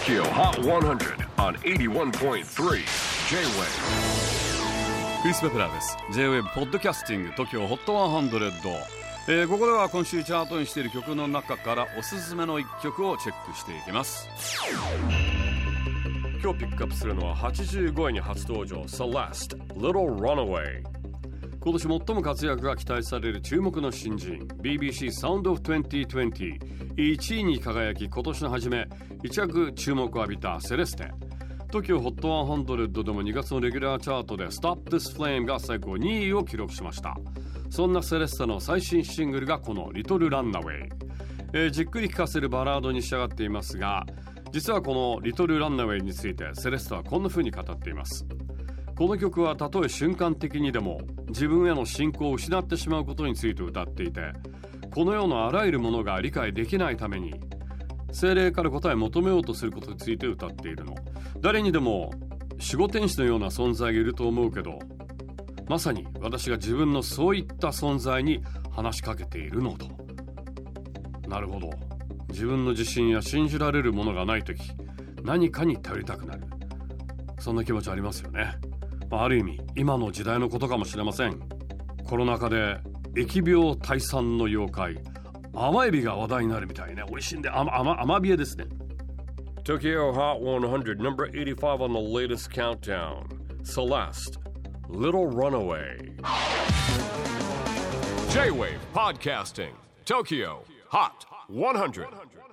TOKYO HOT 100 on 81.3 J-WAVE クリス・ベプラーです。 J-WAVE ポッドキャスティング TOKYO HOT 100、ここでは今週チャートにしている曲の中からおすすめの一曲をチェックしていきます。今日ピックアップするのは85位に初登場 Celeste Little Runaway。 今年最も活躍が期待される注目の新人 BBC Sound of 2020 1位に輝き、今年の初め一躍注目を浴びたセレステ。 TOKYO HOT 100でも2月のレギュラーチャートで Stop This Flame が最高2位を記録しました。そんなセレステの最新シングルがこの Little Runaway、じっくり聴かせるバラードに仕上がっていますが、実はこの Little Runaway についてセレステはこんな風に語っています。この曲はたとえ瞬間的にでも自分への信仰を失ってしまうことについて歌っていて、この世のあらゆるものが理解できないために聖霊から答えを求めようとすることについて歌っているの。誰にでも守護天使のような存在がいると思うけど、まさに私が自分のそういった存在に話しかけているのと。なるほど、自分の自信や信じられるものがないとき、何かに頼りたくなる、そんな気持ちありますよね。ある意味今の時代のことかもしれません。コロナ禍で疫病退散の妖怪甘エビが話題になるみたいね。美味しいんで甘ビエですね。 TOKYO HOT 100 number 85 on the latest countdown, Celeste Little Runaway. J-WAVE PODCASTING TOKYO HOT 100